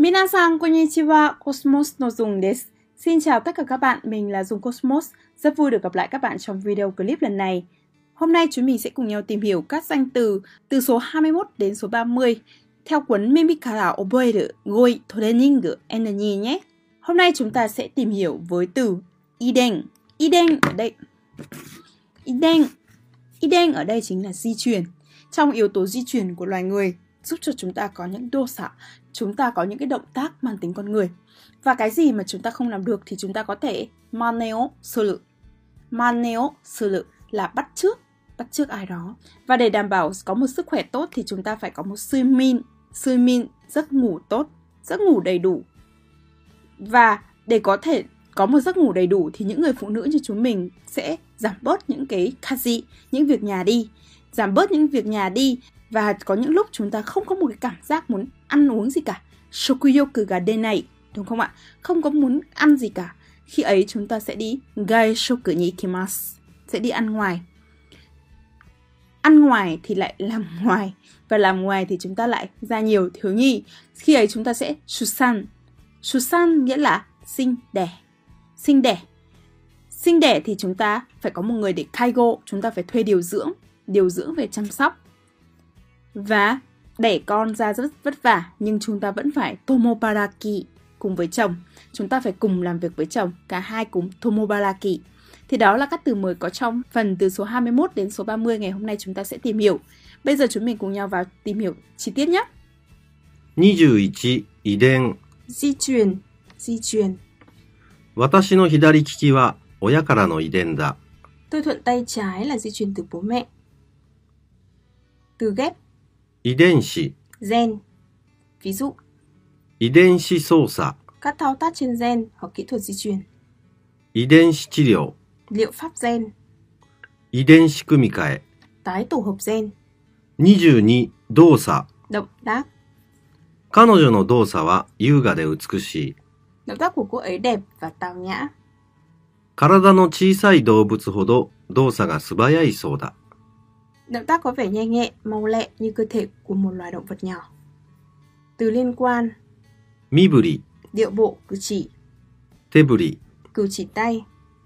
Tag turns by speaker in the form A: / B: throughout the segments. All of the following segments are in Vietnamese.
A: Minasan konnichiwa, Cosmos no Dung desu. Xin chào tất cả các bạn, mình là Dung Cosmos. Rất vui được gặp lại các bạn trong video clip lần này. Hôm nay chúng mình sẽ cùng nhau tìm hiểu các danh từ số 21 đến số 30 theo cuốn Mimikara Oboeru Goi Training Energy nhé. Hôm nay chúng ta sẽ tìm hiểu với từ Iden. Iden ở đây. Iden ở đây chính là di truyền. Trong yếu tố di truyền của loài người giúp cho chúng ta có những dosa, chúng ta có những cái động tác mang tính con người. Và cái gì mà chúng ta không làm được thì chúng ta có thể maneo suru. Maneo suru là bắt chước ai đó. Và để đảm bảo có một sức khỏe tốt thì chúng ta phải có một suimin, giấc ngủ tốt, giấc ngủ đầy đủ. Và để có thể có một giấc ngủ đầy đủ thì những người phụ nữ như chúng mình sẽ giảm bớt những cái kaji, những việc nhà đi. Giảm bớt những việc nhà đi. Và có những lúc chúng ta không có một cái cảm giác muốn ăn uống gì cả. Shokuyoku ga denai, đúng không ạ? Không có muốn ăn gì cả. Khi ấy chúng ta sẽ đi gaishoku ni ikimasu, sẽ đi ăn ngoài. Ăn ngoài thì lại làm ngoài. Và làm ngoài thì chúng ta lại ra nhiều thiếu nhi. Khi ấy chúng ta sẽ shusan. Shusan nghĩa là sinh đẻ. Sinh đẻ thì chúng ta phải có một người để kaigo. Chúng ta phải thuê điều dưỡng về chăm sóc. Và đẻ con ra rất vất vả, nhưng chúng ta vẫn phải tomobaraki cùng với chồng. Chúng ta phải cùng làm việc với chồng, cả hai cùng tomobaraki. Thì đó là các từ mới có trong phần từ số 21 đến số 30 ngày hôm nay chúng ta sẽ tìm hiểu. Bây giờ chúng mình cùng nhau vào tìm hiểu chi tiết nhé.
B: 21. 遺伝
A: Di truyền
B: 私の左利きは親からの遺伝だ。
A: Tôi thuận tay trái là di truyền từ bố mẹ. Từ ghép
B: 遺伝子
A: gen. Ví dụ
B: 遺伝子操作
A: các thao tác trên gen hoặc kỹ thuật di truyền.
B: 遺伝子治療
A: Liệu pháp gen.
B: 遺伝子組み換え
A: Tái tổ hợp gen.
B: 22. 動作
A: Động tác.
B: 彼女の動作は優雅で美しい。
A: Động tác của cô ấy đẹp và tào nhã.
B: 体の小さい動物ほど動作が素早いそうだ。
A: Động tác có vẻ nhanh nhẹn, mau lẹ như cơ thể của một loài động vật nhỏ. Từ liên quan
B: 身振り
A: điệu bộ, cử chỉ.
B: 手振り
A: Cử chỉ tay.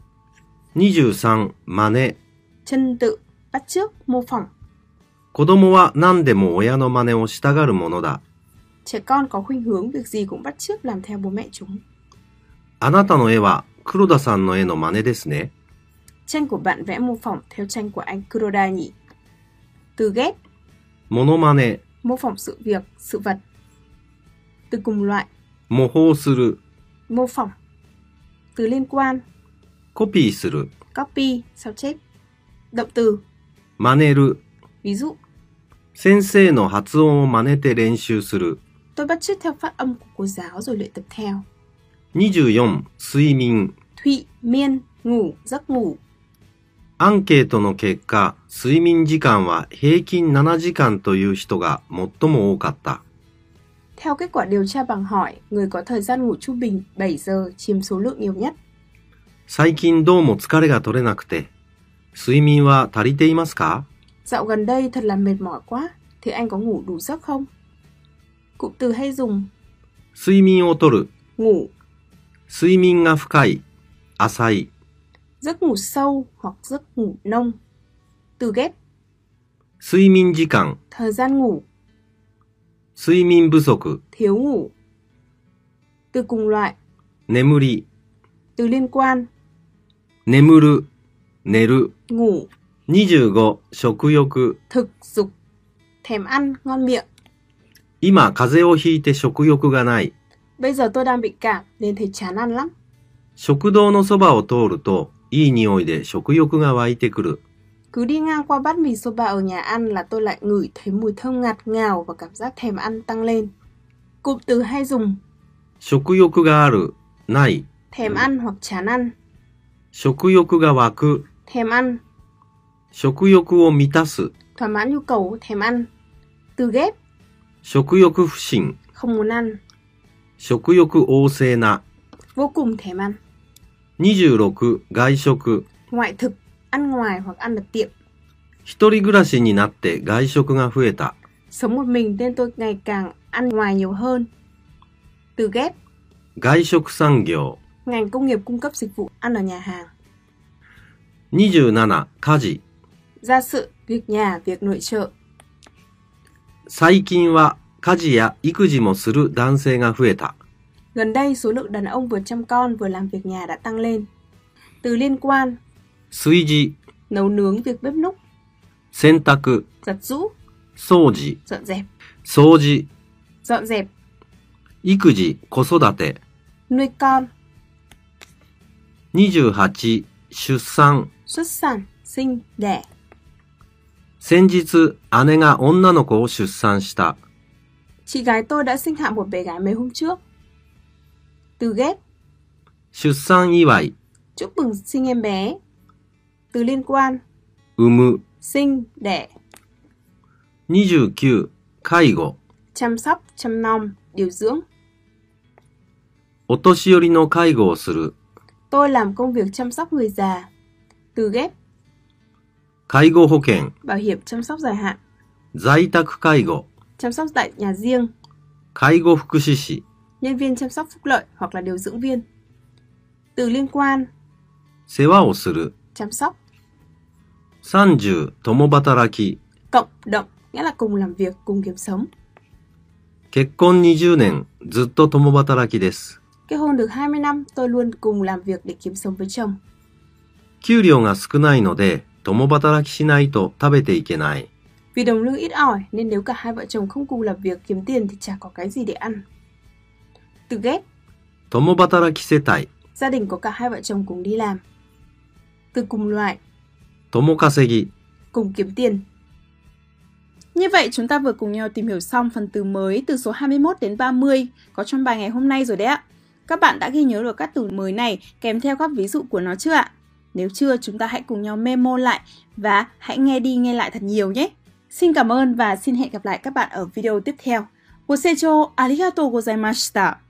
B: 23. 真似
A: Chân tự, bắt chước, mô phỏng.
B: 子供は何でも親の真似をしたがるものだ。
A: Trẻ con có khuynh hướng việc gì cũng bắt chước làm theo bố mẹ chúng.
B: あなたの絵は黒田さんの絵の真似ですね。
A: Tranh của bạn vẽ mô phỏng theo tranh của anh Kuroda nhỉ? Từ ghép
B: モノマネ
A: mô phỏng sự việc, sự vật. Từ cùng loại
B: 模倣する
A: mô phỏng. Từ liên quan
B: コピーする
A: copy, sao chép. Động từ
B: 真似る
A: ví dụ
B: 先生の発音を真似て練習する。
A: tôi bắt chước theo phát âm của cô giáo rồi luyện tập theo.
B: 24. 睡眠
A: Thụy, miên, ngủ, giấc ngủ.
B: アンケートの結果、睡眠時間は平均7時間という人が最も多かった。
A: Theo kết quả điều tra bằng hỏi, người có thời gian ngủ trung bình 7 giờ chiếm số lượng nhiều nhất.
B: 最近どうも疲れが取れなくて、睡眠は足りていますか？
A: Dạo gần đây thật là mệt mỏi quá, thì anh có ngủ đủ giấc không? Cụm từ hay dùng
B: 睡眠をとる、
A: ngủ,
B: 睡眠が深い、浅い。
A: giấc ngủ sâu hoặc giấc ngủ nông. Từ ghép
B: 睡眠時間、
A: thời gian ngủ,
B: 睡眠不足、
A: thiếu ngủ. Từ cùng loại
B: 眠り、
A: từ liên quan
B: 眠る、寝る。
A: ngủ,
B: 25. 食欲
A: thực dục, thèm ăn, ngon miệng.
B: 今風邪をひいて食欲がない。
A: Bây giờ tôi đang bị cảm nên thấy chán ăn lắm.
B: 食堂のそばを通るといい匂いで食欲が湧いてくる。
A: Cứ đi ngang qua bát mì soba ở nhà ăn là tôi lại ngửi thấy mùi thơm ngạt ngào và cảm giác thèm ăn tăng lên. Cụm từ hay dùng
B: 食欲がある、ない。
A: thèm ăn hoặc chán ăn.
B: 食欲が湧く、
A: Thèm ăn,
B: 食欲を満たす。
A: thỏa mãn nhu cầu thèm ăn. Từ ghép
B: 食欲不振、
A: không muốn ăn,
B: 食欲旺盛な。
A: vô cùng thèm ăn.
B: 26. 外食
A: Ngoại thực, ăn ngoài hoặc ăn ở tiệm.
B: 一人暮らしになって外食が増えた。
A: Sống một mình nên tôi ngày càng ăn ngoài nhiều hơn. Từ ghép,
B: 外食産業。
A: ngành công nghiệp cung cấp dịch vụ ăn ở nhà hàng.
B: 27、家事。
A: Gia sự, việc nhà, việc nội trợ.
B: 最近は家事や育児もする男性が増えた。
A: Gần đây, số lượng đàn ông vừa chăm con vừa làm việc nhà đã tăng lên. Từ liên quan,
B: 炊事、
A: nấu nướng, việc bếp núc.
B: 洗濯、
A: Giặt giũ,
B: 掃除、
A: dọn dẹp.
B: 掃除、
A: Dọn dẹp,
B: 育児、子育て。
A: nuôi con.
B: 28、出産。
A: Xuất sản, sinh, đẻ.
B: 先日、姉が女の子を出産した。
A: Chị gái tôi đã sinh hạ một bé gái mấy hôm trước. Từ ghép,
B: 出産祝い、
A: chúc mừng sinh em bé. Từ liên quan,
B: 産む。
A: sinh, đẻ.
B: 29、介護。
A: Chăm sóc, chăm nom, điều dưỡng.
B: お年寄りの介護をする。
A: Tôi làm công việc chăm sóc người già. Từ ghép,
B: 介護保険、
A: bảo hiểm chăm sóc dài hạn.
B: 在宅介護、
A: Chăm sóc tại nhà riêng.
B: 介護福祉士。
A: Nhân viên chăm sóc phúc lợi hoặc là điều dưỡng viên. Từ liên quan,
B: 世話をする。
A: chăm sóc.
B: 30、共働き。
A: Cộng động, nghĩa là cùng làm việc, cùng kiếm sống.
B: 結婚20年、ずっと共働きです。
A: Kết hôn được 20 năm, tôi luôn cùng làm việc để kiếm sống với chồng.
B: 給料が少ないので、共働きしないと食べていけない。
A: Vì đồng lương ít ỏi nên nếu cả hai vợ chồng không cùng làm việc kiếm tiền thì chả có cái gì để ăn. Từ ghép,
B: 共働き世帯、
A: gia đình có cả hai vợ chồng cùng đi làm. Từ cùng loại,
B: 共稼ぎ。
A: cùng kiếm tiền. Như vậy chúng ta vừa cùng nhau tìm hiểu xong phần từ mới từ số 21 đến 30 có trong bài ngày hôm nay rồi đấy ạ. Các bạn đã ghi nhớ được các từ mới này kèm theo các ví dụ của nó chưa ạ? Nếu chưa, chúng ta hãy cùng nhau memo lại và hãy nghe đi nghe lại thật nhiều nhé. Xin cảm ơn và xin hẹn gặp lại các bạn ở video tiếp theo.ご清聴ありがとうございました。